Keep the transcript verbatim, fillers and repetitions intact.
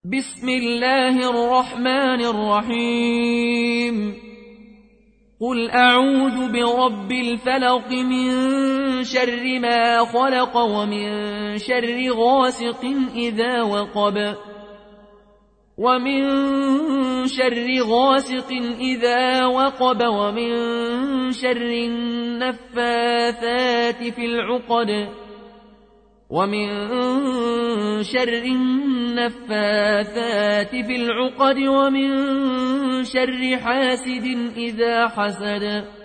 بسم الله الرحمن الرحيم قل أعوذ برب الفلق من شر ما خلق ومن شر غاسق إذا وقب ومن شر غاسق إذا وقب ومن شر النفاثات في العقد ومن شر النفاثات في العقد ومن شر حاسد إذا حسد